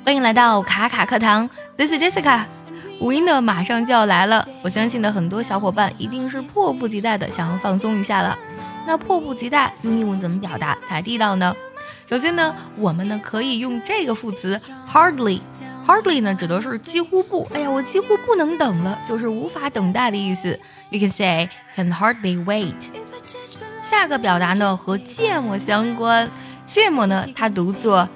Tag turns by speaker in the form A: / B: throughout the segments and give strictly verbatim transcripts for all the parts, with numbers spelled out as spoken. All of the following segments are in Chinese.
A: 欢迎来到卡卡课堂 This is Jessica。 五一呢马上就要来了，我相信呢很多小伙伴一定是迫不及待的想要放松一下了。那迫不及待用英文怎么表达才地道呢？首先呢我们呢可以用这个副词 hardly。 hardly 呢指的是几乎不，哎呀我几乎不能等了，就是无法等待的意思。 You can say can hardly wait。 下个表达呢和芥末相关，芥末呢它读作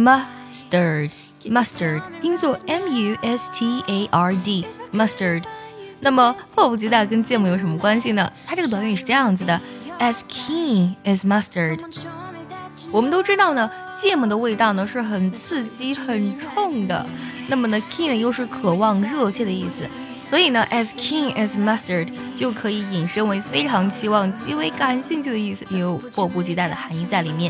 A: mustard mustard 音作 M U S T A R D mustard。 那么迫不及待跟芥末有什么关系呢？它这个短语是这样子的 As keen as mustard。 我们都知道呢芥末的味道呢是很刺激很冲的，那么呢 keen 又是渴望热切的意思，所以呢 as keen as mustard 就可以引申为非常期望极为感兴趣的意思，也有迫不及待的含义在里面。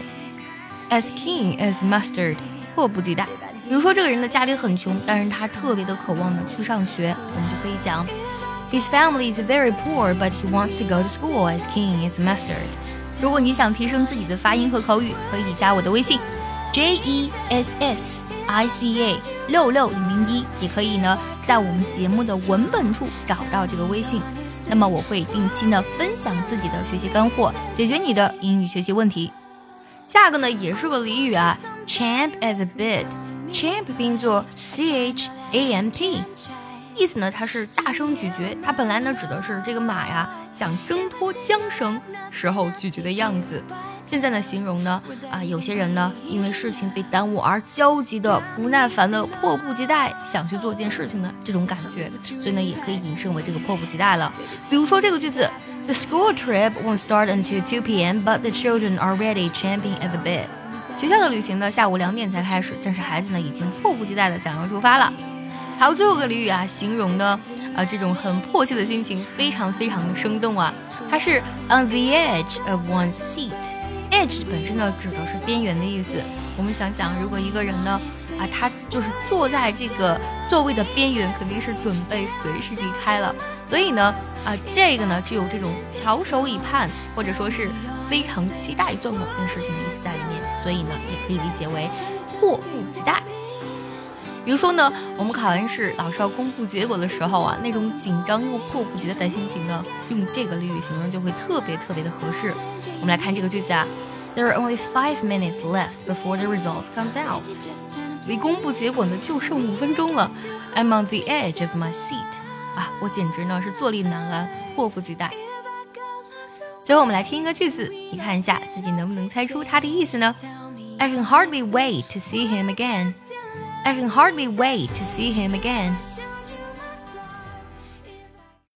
A: As keen as mustard 迫不及待。比如说这个人的家里很穷，但是他特别的渴望呢去上学，我们就可以讲 His family is very poor but he wants to go to school as keen as mustard。 如果你想提升自己的发音和口语，可以加我的微信 J E S S I C A 六六零零一，也可以呢在我们节目的文本处找到这个微信。那么我会定期呢分享自己的学习干货，解决你的英语学习问题。下个呢也是个俚语啊 Champ at the bit。 Champ 拼作 C H A M P， 意思呢它是大声咀嚼，它本来呢指的是这个马呀想挣脱缰绳时候咀嚼的样子。现在呢形容呢啊有些人呢因为事情被耽误而焦急的不耐烦的迫不及待想去做一件事情的这种感觉，所以呢也可以引申为这个迫不及待了。比如说这个句子 The school trip won't start until two p m but the children are already champing at the bit。 学校的旅行呢下午两点才开始，但是孩子呢已经迫不及待的想要出发了。还有最后个俚语啊，形容呢啊这种很迫切的心情非常非常的生动啊，它是 on the edge of one's seat。edge 本身呢指的是边缘的意思，我们想想如果一个人呢啊他就是坐在这个座位的边缘，肯定是准备随时离开了，所以呢啊这个呢就有这种翘首以盼，或者说是非常期待做某件事情的意思在里面，所以呢也可以理解为迫不及待。比如说呢我们考完试老师要公布结果的时候啊，那种紧张又迫不及待的心情呢，用这个俚语形容就会特别特别的合适。我们来看这个句子啊 There are only five minutes left before the results comes out。 离公布结果呢就剩五分钟了。 I'm on the edge of my seat。 啊，我简直呢是坐立难安，迫不及待。最后我们来听一个句子，你看一下自己能不能猜出它的意思呢？ I can hardly wait to see him again。I can hardly wait to see him again。